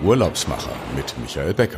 Urlaubsmacher mit Michael Becker.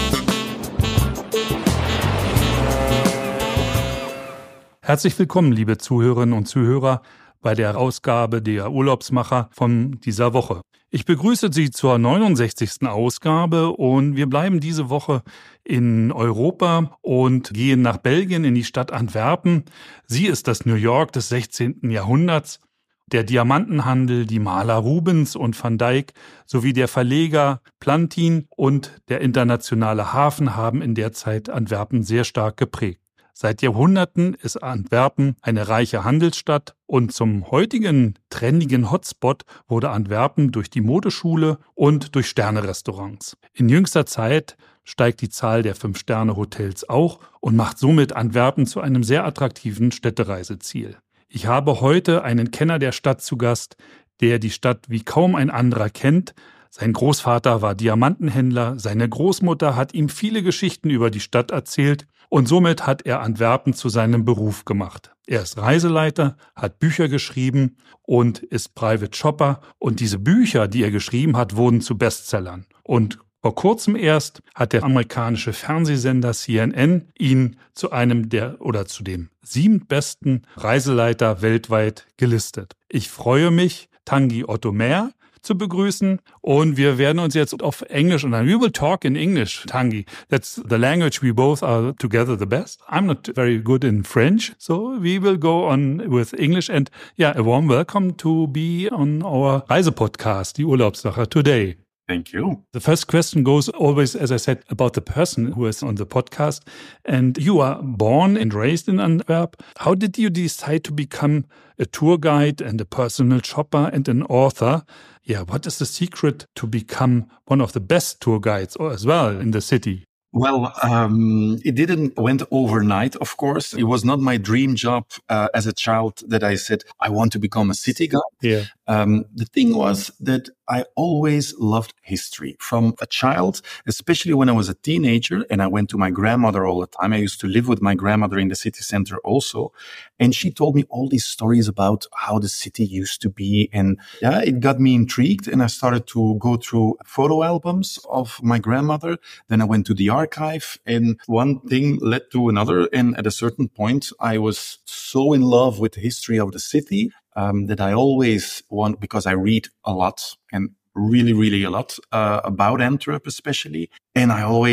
Herzlich willkommen, liebe Zuhörerinnen und Zuhörer, bei der Ausgabe der Urlaubsmacher von dieser Woche. Ich begrüße Sie zur 69. Ausgabe und wir bleiben diese Woche in Europa und gehen nach Belgien in die Stadt Antwerpen. Sie ist das New York des 16. Jahrhunderts. Der Diamantenhandel, die Maler Rubens und Van Dyck sowie der Verleger Plantin und der internationale Hafen haben in der Zeit Antwerpen sehr stark geprägt. Seit Jahrhunderten ist Antwerpen eine reiche Handelsstadt und zum heutigen trendigen Hotspot wurde Antwerpen durch die Modeschule und durch Sterne-Restaurants. In jüngster Zeit steigt die Zahl der 5-Sterne-Hotels auch und macht somit Antwerpen zu einem sehr attraktiven Städtereiseziel. Ich habe heute einen Kenner der Stadt zu Gast, der die Stadt wie kaum ein anderer kennt. Sein Großvater war Diamantenhändler, seine Großmutter hat ihm viele Geschichten über die Stadt erzählt und somit hat er Antwerpen zu seinem Beruf gemacht. Er ist Reiseleiter, hat Bücher geschrieben und ist Private Shopper und diese Bücher, die er geschrieben hat, wurden zu Bestsellern. Und vor kurzem erst hat der amerikanische Fernsehsender CNN ihn zu dem 7. besten Reiseleiter weltweit gelistet. Ich freue mich, Tanguy Otto-Mehr zu begrüßen und wir werden uns jetzt auf Englisch und we will talk in English, Tanguy. That's the language we both are together the best. I'm not very good in French, so we will go on with English and a warm welcome to be on our Reisepodcast, die Urlaubssache today. Thank you. The first question goes always, as I said, about the person who is on the podcast. And you are born and raised in Antwerp. How did you decide to become a tour guide and a personal shopper and an author? What is the secret to become one of the best tour guides as well in the city? Well, it didn't went overnight, of course. It was not my dream job as a child that I said, I want to become a city guide. Yeah. The thing was that I always loved history from a child, especially when I was a teenager and I went to my grandmother all the time. I used to live with my grandmother in the city center also. And she told me all these stories about how the city used to be. And it got me intrigued. And I started to go through photo albums of my grandmother. Then I went to the archive and one thing led to another. And at a certain point, I was so in love with the history of the city that I always want, because I read a lot and really, really a lot about Antwerp especially. And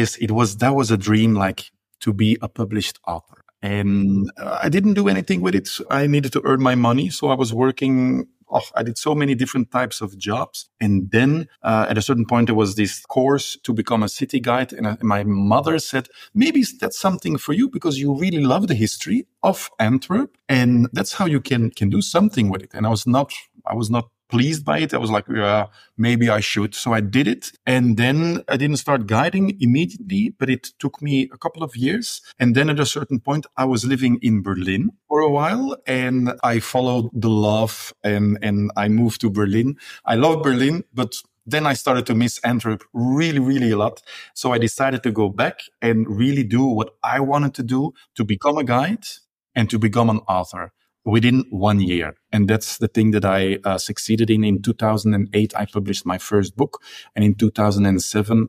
that was a dream, like to be a published author. And I didn't do anything with it. I needed to earn my money. So I was working. I did so many different types of jobs. And then at a certain point, there was this course to become a city guide. And my mother said, maybe that's something for you because you really love the history of Antwerp. And that's how you can do something with it. And I was not pleased by it. I was like, maybe I should. So I did it. And then I didn't start guiding immediately, but it took me a couple of years. And then at a certain point, I was living in Berlin for a while and I followed the love and I moved to Berlin. I love Berlin, but then I started to miss Antwerp really, really a lot. So I decided to go back and really do what I wanted to do, to become a guide and to become an author within 1 year. And that's the thing that I succeeded in. In 2008, I published my first book. And in 2007,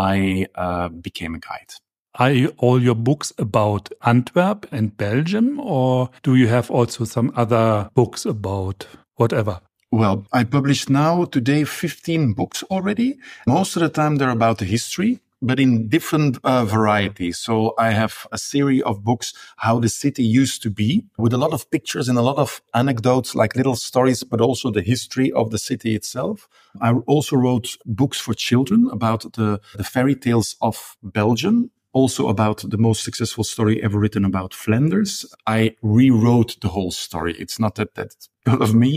I became a guide. Are all your books about Antwerp and Belgium, or do you have also some other books about whatever? Well, I published now today 15 books already. Most of the time, they're about the history, but in different varieties. So I have a series of books, how the city used to be, with a lot of pictures and a lot of anecdotes, like little stories, but also the history of the city itself. I also wrote books for children about the fairy tales of Belgium, also about the most successful story ever written about Flanders. I rewrote the whole story. It's not that's because of me,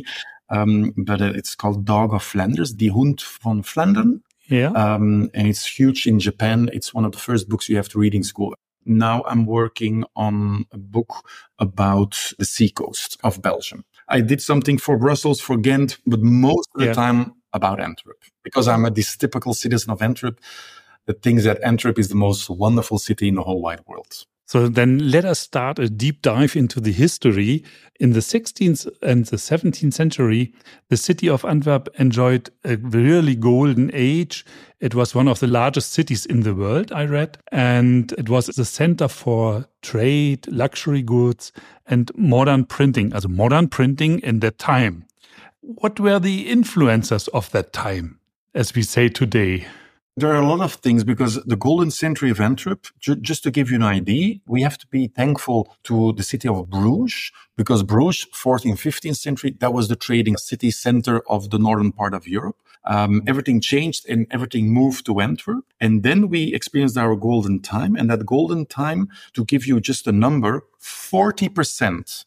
but it's called Dog of Flanders, Die Hund van Vlaanderen. Yeah. And it's huge in Japan. It's one of the first books you have to read in school. Now I'm working on a book about the seacoast of Belgium. I did something for Brussels, for Ghent, but most of the time about Antwerp. Because I'm this typical citizen of Antwerp that thinks that Antwerp is the most wonderful city in the whole wide world. So then let us start a deep dive into the history. In the 16th and the 17th century, the city of Antwerp enjoyed a really golden age. It was one of the largest cities in the world, I read, and it was the center for trade, luxury goods, and modern printing, also modern printing in that time. What were the influencers of that time, as we say today? There are a lot of things because the golden century of Antwerp, just to give you an idea, we have to be thankful to the city of Bruges, because Bruges, 14th, 15th century, that was the trading city center of the northern part of Europe. Everything changed and everything moved to Antwerp. And then we experienced our golden time. And that golden time, to give you just a number, 40%,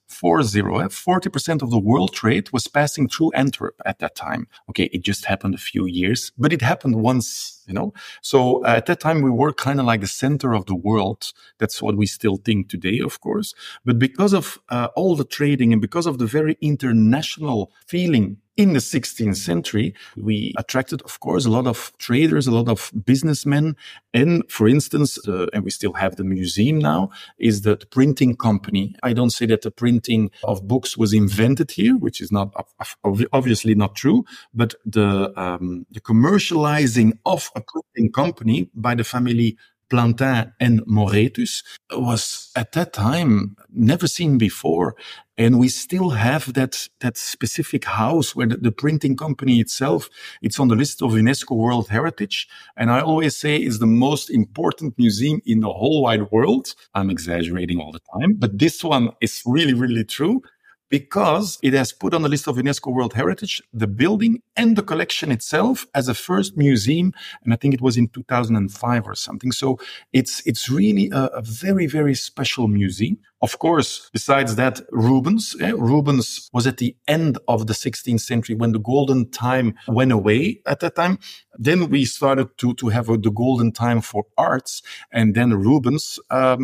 40% of the world trade was passing through Antwerp at that time. Okay, it just happened a few years, but it happened once, you know. So at that time, we were kind of like the center of the world. That's what we still think today, of course. But because of all the trading and because of the very international feeling in the 16th century, we attracted, of course, a lot of traders, a lot of businessmen. And for instance, and we still have the museum now, is the printing company. I don't say that the printing of books was invented here, which is not obviously not true, but the commercializing of a printing company by the family Plantin and Moretus was at that time never seen before. And we still have that specific house where the printing company itself, it's on the list of UNESCO World Heritage. And I always say it's the most important museum in the whole wide world. I'm exaggerating all the time, but this one is really, really true, because it has put on the list of UNESCO World Heritage the building and the collection itself as a first museum. And I think it was in 2005 or something. So it's really a very, very special museum. Of course, besides that, Rubens was at the end of the 16th century when the golden time went away at that time. Then we started to have the golden time for arts. And then Rubens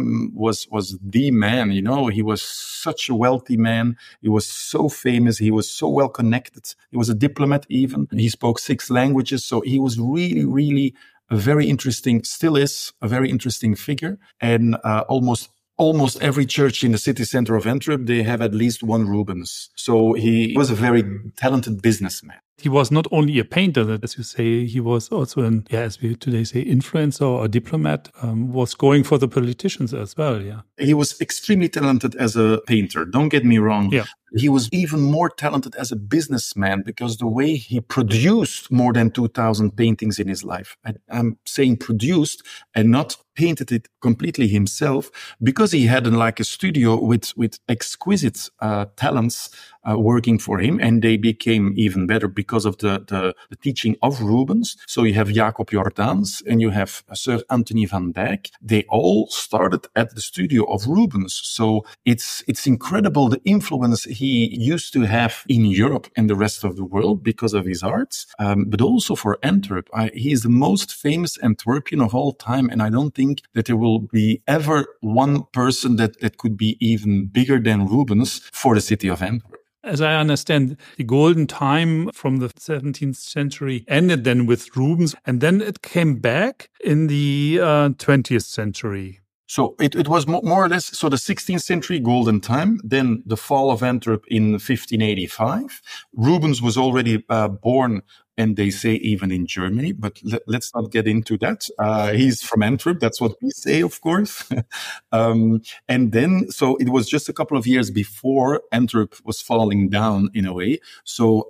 was the man, you know. He was such a wealthy man. He was so famous. He was so well connected. He was a diplomat even. He spoke 6 languages. So he was really, really a very interesting, still is a very interesting figure. And almost every church in the city center of Antwerp, they have at least one Rubens. So he was a very talented businessman. He was not only a painter, as you say, he was also as we today say, influencer or diplomat, was going for the politicians as well, yeah. He was extremely talented as a painter, don't get me wrong. Yeah. He was even more talented as a businessman because the way he produced more than 2,000 paintings in his life, I'm saying produced and not painted it completely himself, because he had like a studio with exquisite talents working for him, and they became even better because of the teaching of Rubens. So you have Jacob Jordaens and you have Sir Anthony van Dyck. They all started at the studio of Rubens. So it's incredible the influence he used to have in Europe and the rest of the world because of his arts, but also for Antwerp. He is the most famous Antwerpian of all time, and I don't think that there will be ever one person that could be even bigger than Rubens for the city of Antwerp. As I understand, the golden time from the 17th century ended then with Rubens, and then it came back in the 20th century. So it was more or less, so the 16th century golden time, then the fall of Antwerp in 1585. Rubens was already born, and they say even in Germany, but let's not get into that. He's from Antwerp. That's what we say, of course. And then, so it was just a couple of years before Antwerp was falling down in a way. So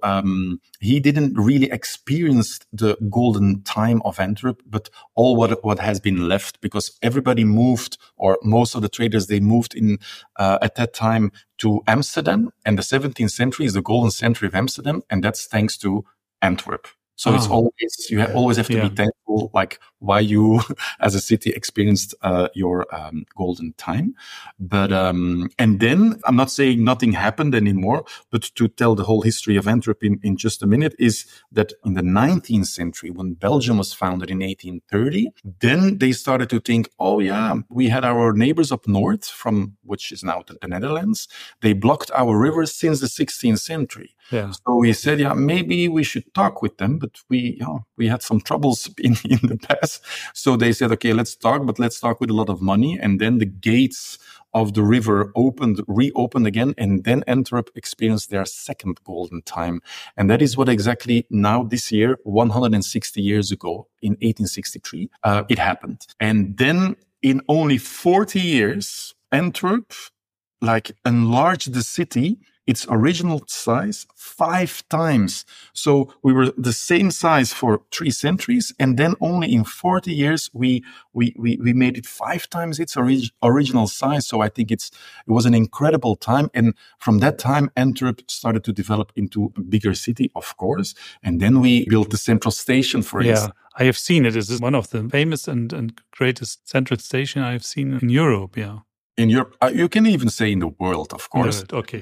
he didn't really experience the golden time of Antwerp, but all what has been left, because everybody moved, or most of the traders, they moved in at that time to Amsterdam. And the 17th century is the golden century of Amsterdam. And that's thanks to Antwerp. So it's always, you always have to be thankful, like why you as a city experienced your golden time. But and then I'm not saying nothing happened anymore, but to tell the whole history of Antwerp in just a minute, is that in the 19th century, when Belgium was founded in 1830, then they started to think, oh yeah, we had our neighbors up north, from which is now the Netherlands. They blocked our rivers since the 16th century. Yeah. So we said, yeah, maybe we should talk with them. but we had some troubles in the past. So they said, okay, let's talk, but let's talk with a lot of money. And then the gates of the river reopened again, and then Antwerp experienced their second golden time. And that is what exactly now this year, 160 years ago, in 1863, it happened. And then in only 40 years, Antwerp, enlarged the city, its original size 5 times. So we were the same size for 3 centuries, and then only in 40 years we made it 5 times its original size. So I think it was an incredible time, and from that time Antwerp started to develop into a bigger city, of course. And then we built the central station, for instance. I have seen it. It is one of the famous and greatest central station I have seen in Europe. Yeah. In Europe, you can even say in the world, of course. No, okay.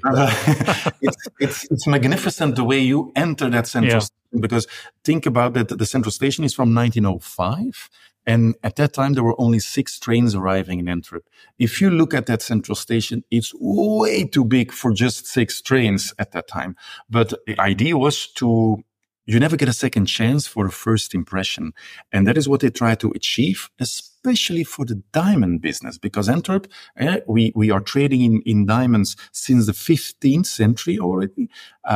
It's magnificent the way you enter that central station, because think about that. The central station is from 1905. And at that time, there were only 6 trains arriving in Antwerp. If you look at that central station, it's way too big for just 6 trains at that time. But the idea was you never get a second chance for a first impression. And that is what they try to achieve, especially for the diamond business, because Antwerp, we are trading in diamonds since the 15th century already.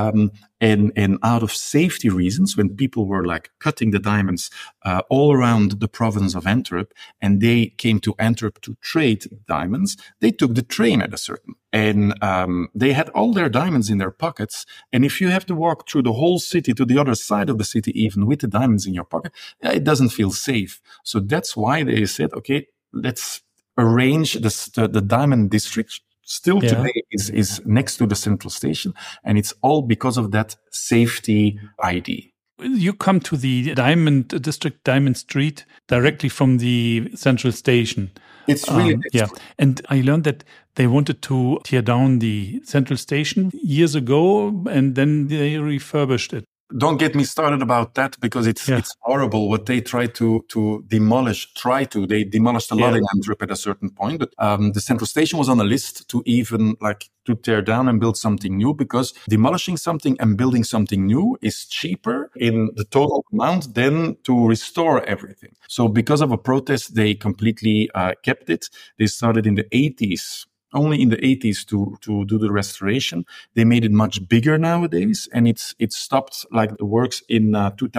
And out of safety reasons, when people were cutting the diamonds all around the province of Antwerp, and they came to Antwerp to trade diamonds, they took the train at a certain. And they had all their diamonds in their pockets. And if you have to walk through the whole city to the other side of the city, even with the diamonds in your pocket, it doesn't feel safe. So that's why they said, okay, let's arrange the diamond district. Still today is next to the central station, and it's all because of that safety ID. You come to the Diamond District, Diamond Street, directly from the central station. It's really And I learned that they wanted to tear down the central station years ago, and then they refurbished it. Don't get me started about that, because it's horrible what they try to demolish. They demolished a lot in Antwerp at a certain point, but the central station was on a list to even to tear down and build something new, because demolishing something and building something new is cheaper in the total amount than to restore everything. So because of a protest, they completely kept it. They started in the 80s. Only in the 80s to do the restoration. They made it much bigger nowadays, and it stopped the works in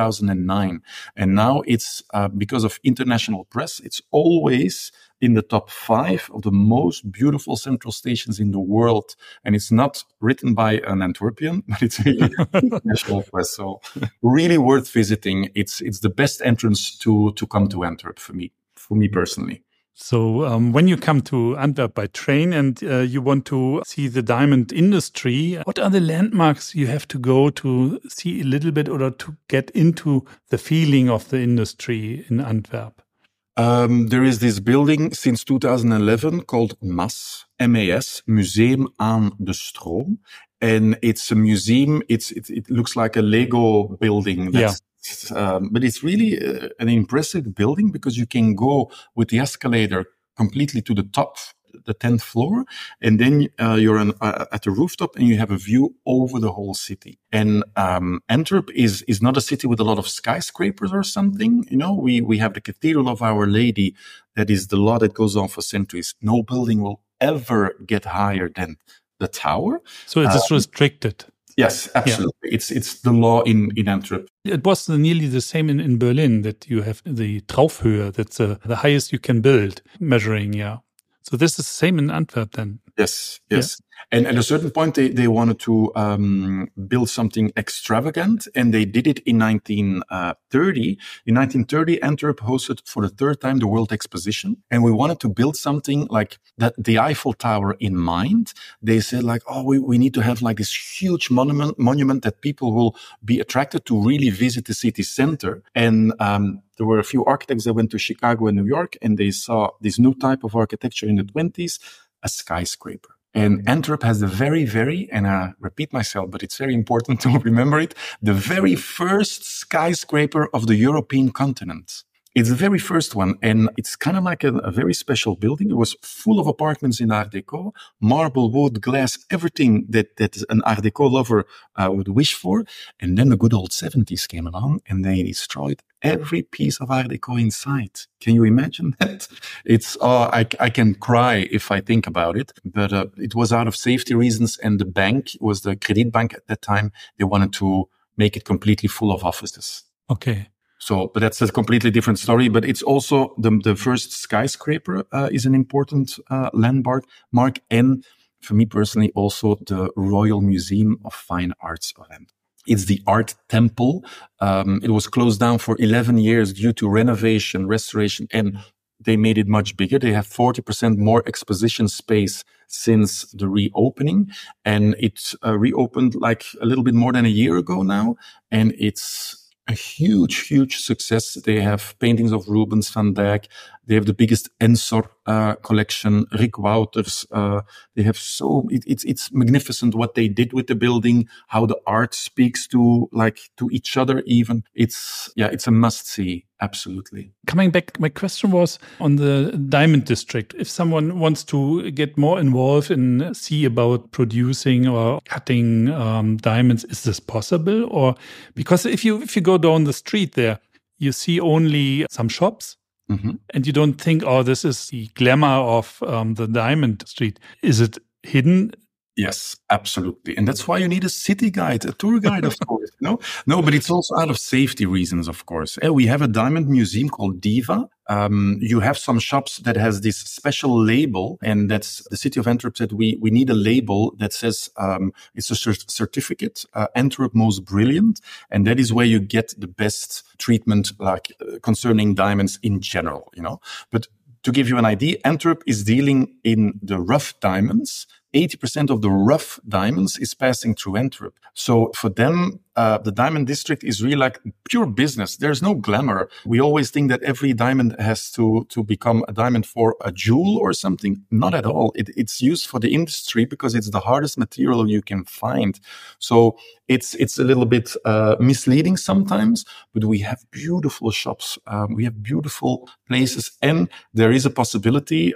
2009. And now it's because of international press, it's always in the top 5 of the most beautiful central stations in the world. And it's not written by an Antwerpian, but it's really international press. So really worth visiting. It's the best entrance to come to Antwerp for me personally. So when you come to Antwerp by train and you want to see the diamond industry, what are the landmarks you have to go to see a little bit, or to get into the feeling of the industry in Antwerp? There is this building since 2011 called MAS, M-A-S, Museum aan de Stroom. And it's a museum. It looks like a Lego building. But it's really an impressive building, because you can go with the escalator completely to the top, the 10th floor, and then you're at the rooftop and you have a view over the whole city. And Antwerp is not a city with a lot of skyscrapers or something. We have the Cathedral of Our Lady. That is the law that goes on for centuries. No building will ever get higher than the tower. So it is restricted. Yes, absolutely. Yeah. It's the law in Antwerp. It was nearly the same in Berlin, that you have the Traufhöhe, that's the highest you can build, measuring, So this is the same in Antwerp then? Yes. Yeah. And at a certain point, they wanted to build something extravagant, and they did it in 1930. In 1930, Antwerp hosted for the 3rd time the World Exposition, and we wanted to build something like that, the Eiffel Tower in mind. They said we need to have this huge monument that people will be attracted to really visit the city center. And there were a few architects that went to Chicago and New York, and they saw this new type of architecture in the 20s, a skyscraper. And Antwerp has the very, very, and I repeat myself, but it's very important to remember it, the very first skyscraper of the European continent. It's the very first one, and it's kind of like a very special building. It was full of apartments in Art Deco, marble, wood, glass, everything that an Art Deco lover would wish for. And then the good old 70s came along, and they destroyed every piece of Art Deco inside. Can you imagine that? I can cry if I think about it, but it was out of safety reasons, and the bank was the Kredietbank at that time. They wanted to make it completely full of offices. Okay. So, but that's a completely different story. But it's also the first skyscraper is an important landmark. And for me personally, also the Royal Museum of Fine Arts of Antwerp. It's the Art Temple. It was closed down for 11 years due to renovation, restoration, and they made it much bigger. They have 40% more exposition space since the reopening. And it reopened like a little bit more than a year ago now. And it's a huge, huge success. They have paintings of Rubens, Van Dyck. They have the biggest Ensor collection, Rick Wouters. They have it's magnificent what they did with the building, how the art speaks to each other even. It's a must see. Absolutely. Coming back, my question was on the diamond district. If someone wants to get more involved and see about producing or cutting diamonds, is this possible? Or because if you go down the street there, you see only some shops. Mm-hmm. And you don't think, oh, this is the glamour of the diamond street. Is it hidden? Yes, absolutely. And that's why you need a city guide, a tour guide, of course. No, but it's also out of safety reasons, of course. We have a diamond museum called Diva. You have some shops that has this special label, and that's the city of Antwerp said we need a label that says it's a certificate, Antwerp Most Brilliant, and that is where you get the best treatment, concerning diamonds in general, But to give you an idea, Antwerp is dealing in the rough diamonds. 80% of the rough diamonds is passing through Antwerp. So for them, the diamond district is really like pure business. There's no glamour. We always think that every diamond has to become a diamond for a jewel or something. Not at all. It's used for the industry because it's the hardest material you can find. So it's a little bit misleading sometimes, but we have beautiful shops. We have beautiful places, and there is a possibility,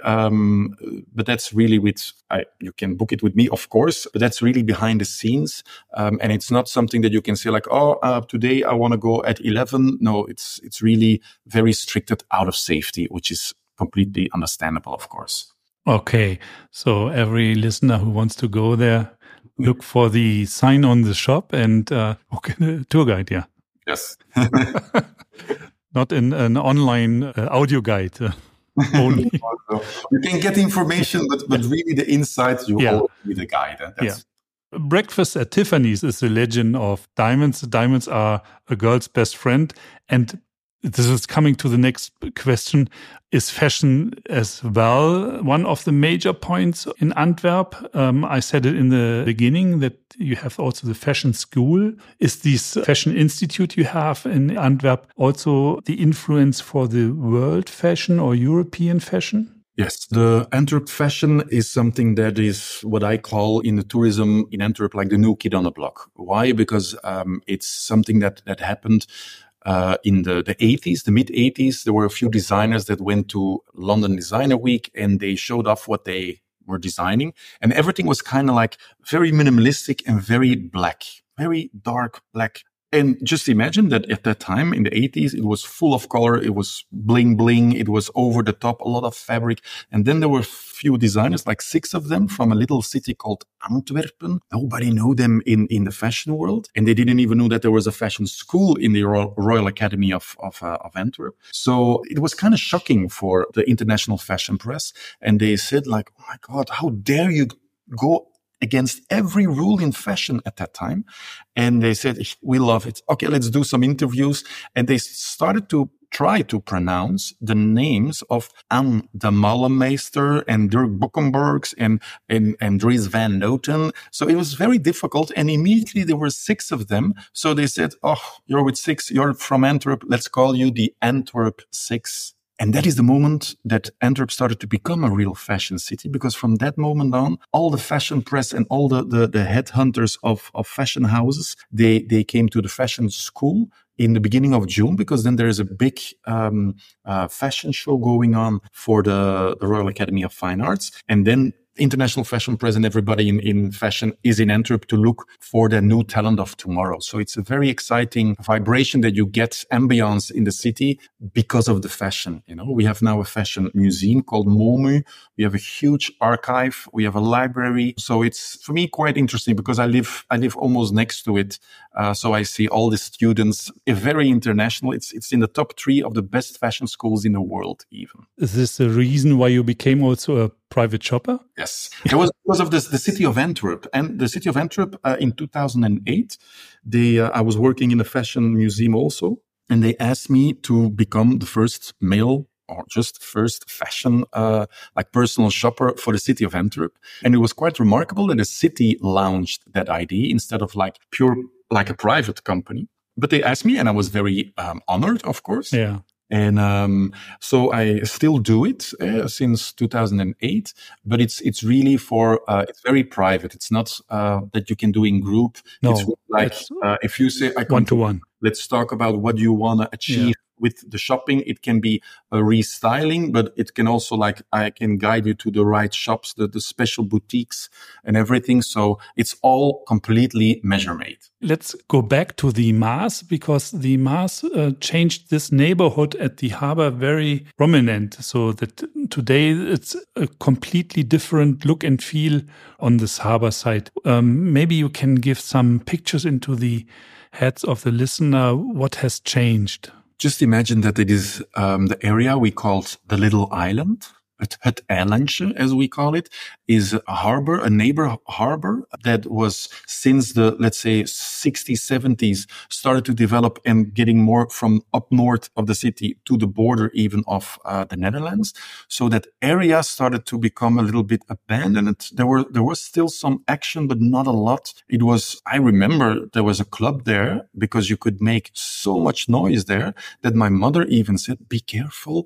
but that's really you can book it with me, of course, but that's really behind the scenes. And it's not something that you can say like, today I want to go at 11. No, it's really very stricted out of safety, which is completely understandable, of course. Okay. So every listener who wants to go there, look for the sign on the shop and book a tour guide. Yeah. Yes. Not in an online audio guide. Only. You can get information, but really the inside, you always need a guide. Breakfast at Tiffany's is the legend of diamonds. Diamonds are a girl's best friend. And this is coming to the next question. Is fashion as well one of the major points in Antwerp? I said it in the beginning that you have also the fashion school. Is this fashion institute you have in Antwerp also the influence for the world fashion or European fashion? Yes, the Antwerp fashion is something that is what I call in the tourism in Antwerp like the new kid on the block. Why? Because it's something that happened in the 80s, the mid 80s. There were a few designers that went to London Designer Week and they showed off what they were designing. And everything was kind of like very minimalistic and very black, very dark black. And just imagine that at that time in the 80s, it was full of color. It was bling, bling. It was over the top, a lot of fabric. And then there were few designers, like 6 of them from a little city called Antwerpen. Nobody knew them in the fashion world. And they didn't even know that there was a fashion school in the Royal Academy of Antwerp. So it was kind of shocking for the international fashion press. And they said like, oh my God, how dare you go against every rule in fashion at that time. And they said, we love it. Okay, let's do some interviews. And they started to try to pronounce the names of Anne de Mallemeester and Dirk Boekenbergs and Dries Van Noten. So it was very difficult. And immediately there were 6 of them. So they said, oh, you're with 6. You're from Antwerp. Let's call you the Antwerp 6. And that is the moment that Antwerp started to become a real fashion city, because from that moment on, all the fashion press and all the headhunters of fashion houses, they came to the fashion school in the beginning of June, because then there is a big fashion show going on for the Royal Academy of Fine Arts. And then international fashion press and everybody in fashion is in Antwerp to look for the new talent of tomorrow. So it's a very exciting vibration that you get, ambience in the city because of the fashion. You know, we have now a fashion museum called MOMU. We have a huge archive. We have a library. So it's, for me, quite interesting because I live almost next to it. So I see all the students, very international. It's in the top 3 of the best fashion schools in the world, even. Is this the reason why you became also a private shopper? Yes. It was because of the city of Antwerp. And the city of Antwerp, in 2008, I was working in a fashion museum also. And they asked me to become the first male or just first fashion, personal shopper for the city of Antwerp. And it was quite remarkable that the city launched that idea instead of pure a private company. But they asked me and I was very honored, of course. Yeah. And so I still do it since 2008, but it's really it's very private. It's not that you can do in group. No, it's if you say I one to one. Let's talk about what you want to achieve with the shopping. It can be a restyling, but it can also I can guide you to the right shops, the special boutiques and everything. So it's all completely measure made. Let's go back to the Maas, because the Maas changed this neighborhood at the harbor very prominent. So that today it's a completely different look and feel on this harbor side. Maybe you can give some pictures into the heads of the listener. What has changed? Just imagine that it is the area we called the Little Island. Het Eilandje, as we call it, is a harbor, a neighbor harbor that was since the, let's say, 60s, 70s, started to develop and getting more from up north of the city to the border even of the Netherlands. So that area started to become a little bit abandoned. There was still some action, but not a lot. I remember there was a club there because you could make so much noise there that my mother even said, be careful,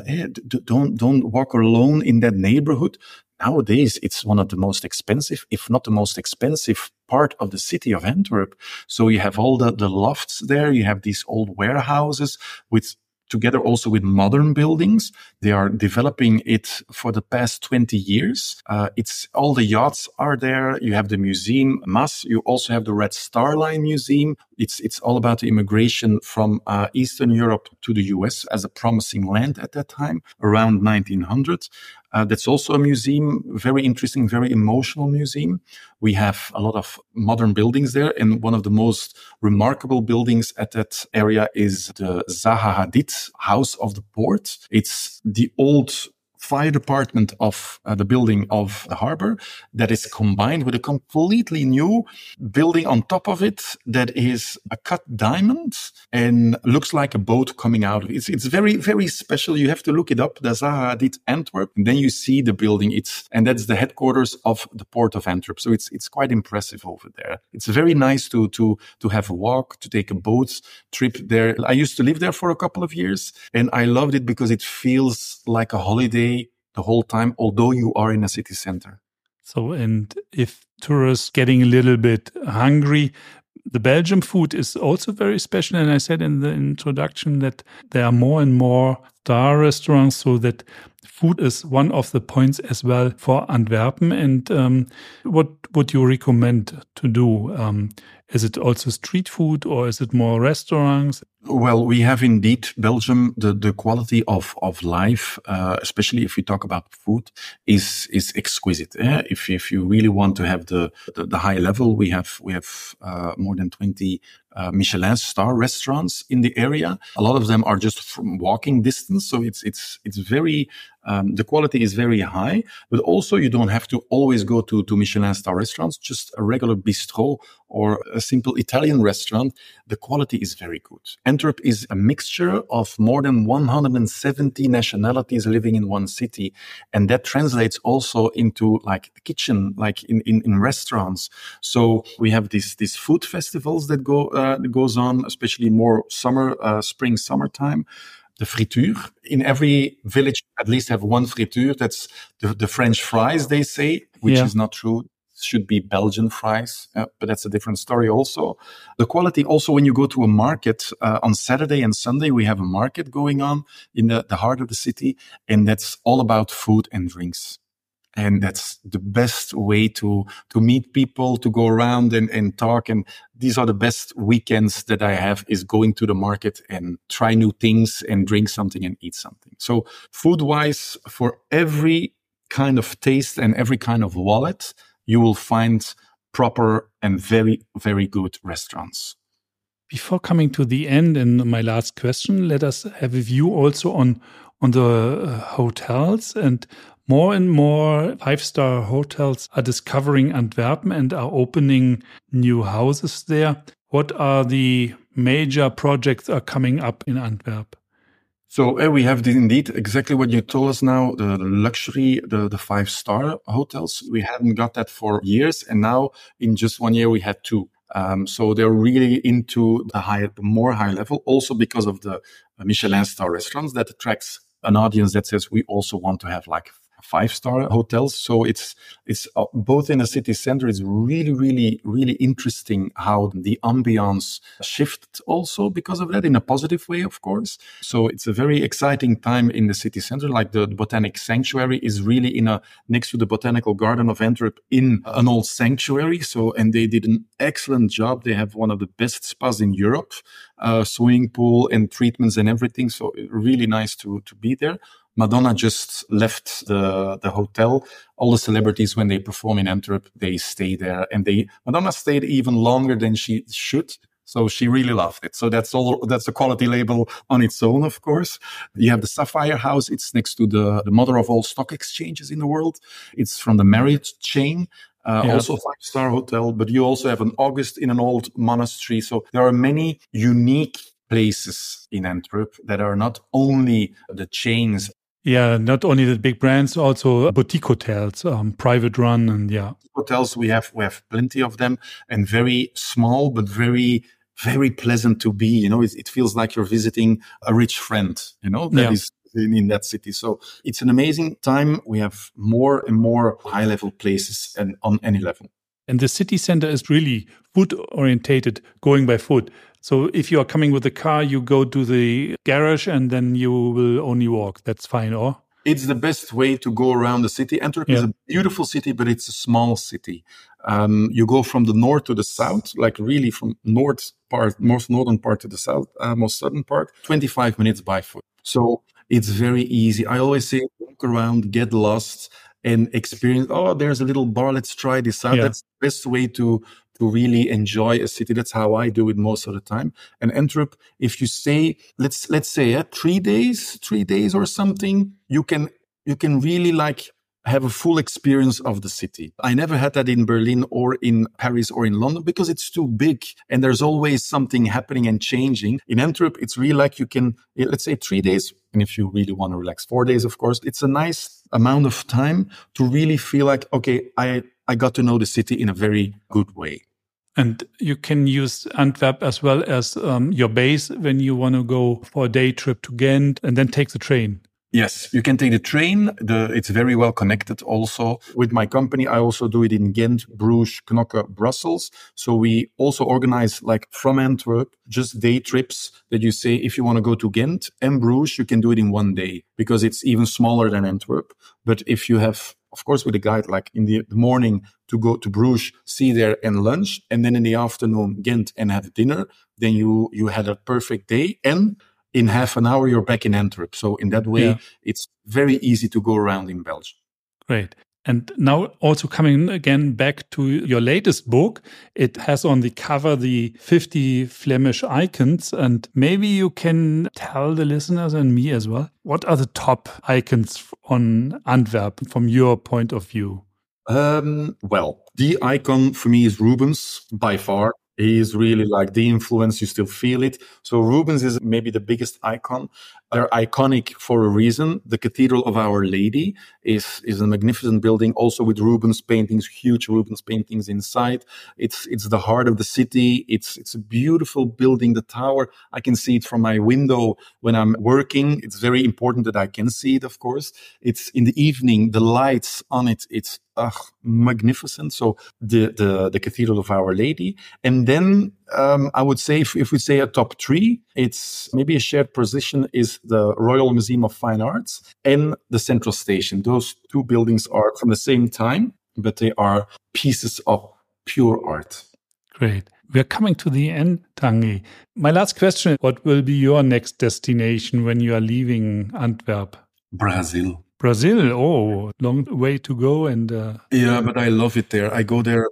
don't walk alone in that neighborhood. Nowadays, it's one of the most expensive, if not the most expensive part of the city of Antwerp. So you have all the lofts there. You have these old warehouses together also with modern buildings. They are developing it for the past 20 years. It's all the yachts are there. You have the museum, Maas. You also have the Red Star Line Museum. It's all about the immigration from Eastern Europe to the US as a promising land at that time, around 1900. That's also a museum, very interesting, very emotional museum. We have a lot of modern buildings there. And one of the most remarkable buildings at that area is the Zaha Hadid House of the Port. It's the old fire department of the building of the harbor that is combined with a completely new building on top of it that is a cut diamond and looks like a boat coming out of it. It's very, very special. You have to look it up, the Zaha Hadid Antwerp, and then you see the building. And that's the headquarters of the port of Antwerp. So it's quite impressive over there. It's very nice to have a walk, to take a boat trip there. I used to live there for a couple of years and I loved it because it feels like a holiday the whole time, although you are in a city center. So, and if tourists getting a little bit hungry, the Belgian food is also very special. And I said in the introduction that there are more and more star restaurants, so that food is one of the points as well for Antwerpen. And what would you recommend to do? Is it also street food or is it more restaurants? Well, we have indeed Belgium. The quality of life, especially if we talk about food, is exquisite. If you really want to have the high level, we have more than 20 Michelin star restaurants in the area. A lot of them are just from walking distance, so it's very the quality is very high. But also, you don't have to always go to Michelin star restaurants. Just a regular bistro or a simple Italian restaurant, the quality is very good. Antwerp is a mixture of more than 170 nationalities living in one city, and that translates also into like the kitchen, like in restaurants. So we have these food festivals that goes on, especially more spring, summertime. the friture. In every village, at least have one friture. That's the French fries, they say, which is not true. Should be Belgian fries, but that's a different story also. The quality also, when you go to a market, on Saturday and Sunday, we have a market going on in the heart of the city, and that's all about food and drinks. And that's the best way to meet people, to go around and talk. And these are the best weekends that I have, is going to the market and try new things and drink something and eat something. So food-wise, for every kind of taste and every kind of wallet, you will find proper and very, very good restaurants. Before coming to the end and my last question, let us have a view also on the hotels. And more 5-star hotels are discovering Antwerpen and are opening new houses there. What are the major projects are coming up in Antwerp? So we have indeed exactly what you told us now, the luxury, the 5-star hotels. We hadn't got that for years. And now in just 1 year, we had 2. So they're really into the more high level, also because of the Michelin star restaurants that attracts an audience that says we also want to have like 5-star hotels. So it's both in the city center. It's really, really, really interesting how the ambiance shifted also because of that, in a positive way, of course. So it's a very exciting time in the city center. Like the Botanic Sanctuary is really next to the Botanical Garden of Antwerp, in an old sanctuary. So, and they did an excellent job. They have one of the best spas in Europe, swimming pool and treatments and everything. So really nice to be there. Madonna just left the hotel. All the celebrities, when they perform in Antwerp, they stay there. And Madonna stayed even longer than she should. So she really loved it. So that's a quality label on its own, of course. You have the Sapphire House. It's next to the mother of all stock exchanges in the world. It's from the Marriott chain. Also a 5-star hotel. But you also have an August in an old monastery. So there are many unique places in Antwerp that are not only the chains. Yeah, not only the big brands, also boutique hotels, private run, and hotels. We have plenty of them, and very small but very, very pleasant to be. You know, it feels like you're visiting a rich friend. You know, that is in that city. So it's an amazing time. We have more and more high level places, and on any level. And the city center is really food orientated, going by foot. So if you are coming with a car, you go to the garage and then you will only walk. That's fine, or? It's the best way to go around the city. Antwerp is a beautiful city, but it's a small city. You go from the north to the south, like really from most northern part to the south, most southern part, 25 minutes by foot. So it's very easy. I always say, walk around, get lost, and experience, there's a little bar, let's try this out. That's the best way to really enjoy a city. That's how I do it most of the time. And Antwerp, if you stay, let's say 3 days or something, you can really like have a full experience of the city. I never had that in Berlin or in Paris or in London because it's too big and there's always something happening and changing. In Antwerp, it's really like you can, let's say 3 days. And if you really want to relax, 4 days, of course, it's a nice amount of time to really feel like, okay, I got to know the city in a very good way. And you can use Antwerp as well as your base when you want to go for a day trip to Ghent and then take the train. Yes, you can take the train. It's very well connected also. With my company, I also do it in Ghent, Bruges, Knokke, Brussels. So we also organize like from Antwerp, just day trips that you say, if you want to go to Ghent and Bruges, you can do it in 1 day because it's even smaller than Antwerp. But if you have, of course, with a guide, like in the morning to go to Bruges, see there and lunch, and then in the afternoon, Ghent and have dinner, then you had a perfect day. And in half an hour, you're back in Antwerp. So in that way, it's very easy to go around in Belgium. Great. And now also coming again back to your latest book, it has on the cover the 50 Flemish icons. And maybe you can tell the listeners and me as well, what are the top icons on Antwerp from your point of view? Well, the icon for me is Rubens by far. He is really like the influence. You still feel it. So Rubens is maybe the biggest icon. They're iconic for a reason. The Cathedral of Our Lady is a magnificent building, also with Rubens paintings, huge Rubens paintings inside. It's the heart of the city. It's a beautiful building. The tower, I can see it from my window when I'm working. It's very important that I can see it, of course. It's in the evening, the lights on it, it's magnificent. So the Cathedral of Our Lady. And then I would say, if we say a top three, it's maybe a shared position is the Royal Museum of Fine Arts and the Central Station. Those two buildings are from the same time, but they are pieces of pure art. Great. We're coming to the end, Tanguy. My last question, what will be your next destination when you are leaving Antwerp? Brazil. Brazil, oh, long way to go. And yeah, but I love it there. I go there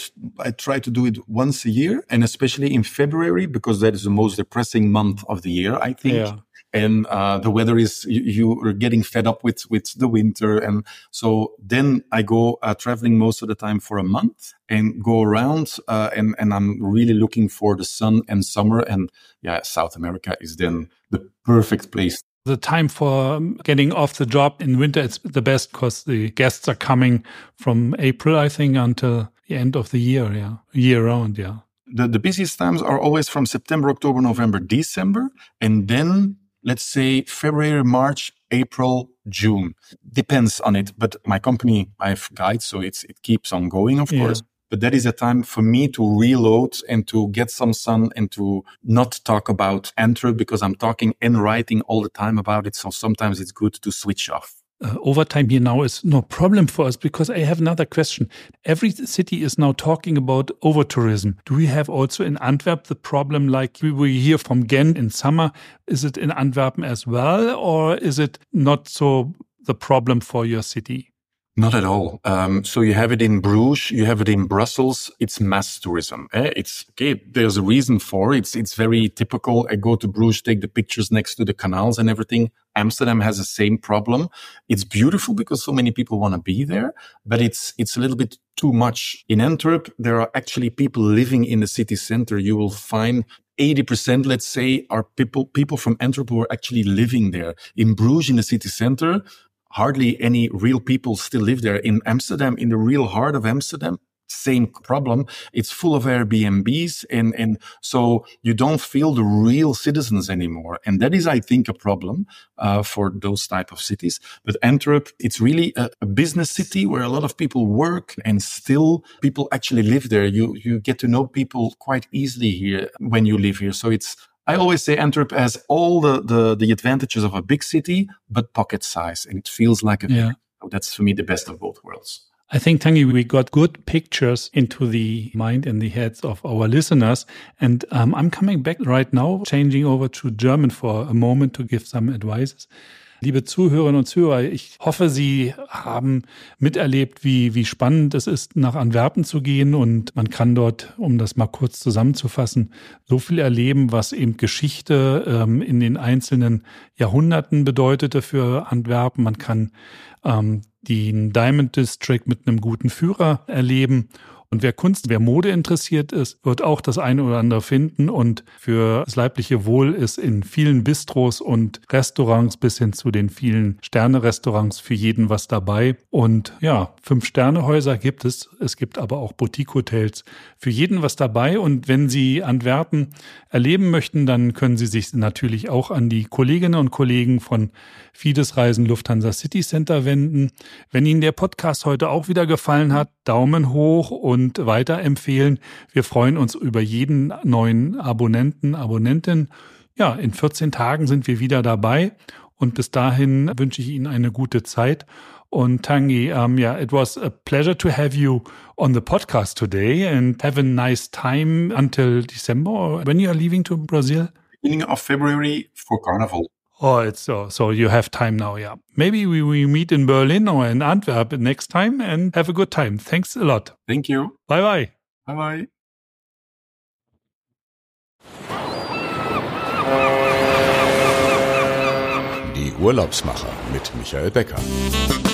I try to do it once a year, and especially in February, because that is the most depressing month of the year, I think. Yeah. And the weather is, you are getting fed up with the winter. And so then I go traveling most of the time for a month and go around. And I'm really looking for the sun and summer. And yeah, South America is then the perfect place. The time for getting off the job in winter, it's the best because the guests are coming from April, I think, until the end of the year. Yeah, year round. Yeah. The busiest times are always from September, October, November, December. And then let's say February, March, April, June. Depends on it. But my company, I have guides, so it keeps on going, of course. But that is a time for me to reload and to get some sun and to not talk about Antwerp, because I'm talking and writing all the time about it. So sometimes it's good to switch off. Overtime here now is no problem for us, because I have another question. Every city is now talking about over-tourism. Do we have also in Antwerp the problem like we hear from Ghent in summer? Is it in Antwerp as well, or is it not so the problem for your city? Not at all. So you have it in Bruges, you have it in Brussels. It's mass tourism. It's okay. There's a reason for it. It's very typical. I go to Bruges, take the pictures next to the canals and everything. Amsterdam has the same problem. It's beautiful because so many people want to be there, but it's a little bit too much. In Antwerp, there are actually people living in the city center. You will find 80%, let's say, are people from Antwerp who are actually living there. In Bruges, in the city center, hardly any real people still live there. In Amsterdam, in the real heart of Amsterdam, same problem. It's full of Airbnbs, and so you don't feel the real citizens anymore. And that is, I think, a problem for those type of cities. But Antwerp, it's really a business city where a lot of people work, and still people actually live there. You get to know people quite easily here when you live here. So I always say Antwerp has all the advantages of a big city, but pocket size, and it feels like that's for me the best of both worlds. I think, Tanguy, we got good pictures into the mind and the heads of our listeners. And I'm coming back right now, changing over to German for a moment to give some advices. Liebe Zuhörerinnen und Zuhörer, ich hoffe, Sie haben miterlebt, wie spannend es ist, nach Antwerpen zu gehen. Und man kann dort, um das mal kurz zusammenzufassen, so viel erleben, was eben Geschichte in den einzelnen Jahrhunderten bedeutete für Antwerpen. Man kann den Diamond District mit einem guten Führer erleben. Und wer Mode interessiert ist, wird auch das eine oder andere finden. Und für das leibliche Wohl ist in vielen Bistros und Restaurants bis hin zu den vielen Sterne-Restaurants für jeden was dabei. Und ja, 5-Sterne-Häuser gibt es. Es gibt aber auch Boutique-Hotels. Für jeden was dabei. Und wenn Sie Antwerpen erleben möchten, dann können Sie sich natürlich auch an die Kolleginnen und Kollegen von Fides Reisen Lufthansa City Center wenden. Wenn Ihnen der Podcast heute auch wieder gefallen hat, Daumen hoch und weiterempfehlen. Wir freuen uns über jeden neuen Abonnentin. Ja, in 14 Tagen sind wir wieder dabei und bis dahin wünsche ich Ihnen eine gute Zeit. Und Tanguy, it was a pleasure to have you on the podcast today and have a nice time until December when you are leaving to Brazil. Beginning of February for Carnival. Oh, it's so you have time now, yeah. Maybe we meet in Berlin or in Antwerp next time and have a good time. Thanks a lot. Thank you. Bye-bye. Bye-bye. Die Urlaubsmacher mit Michael Becker.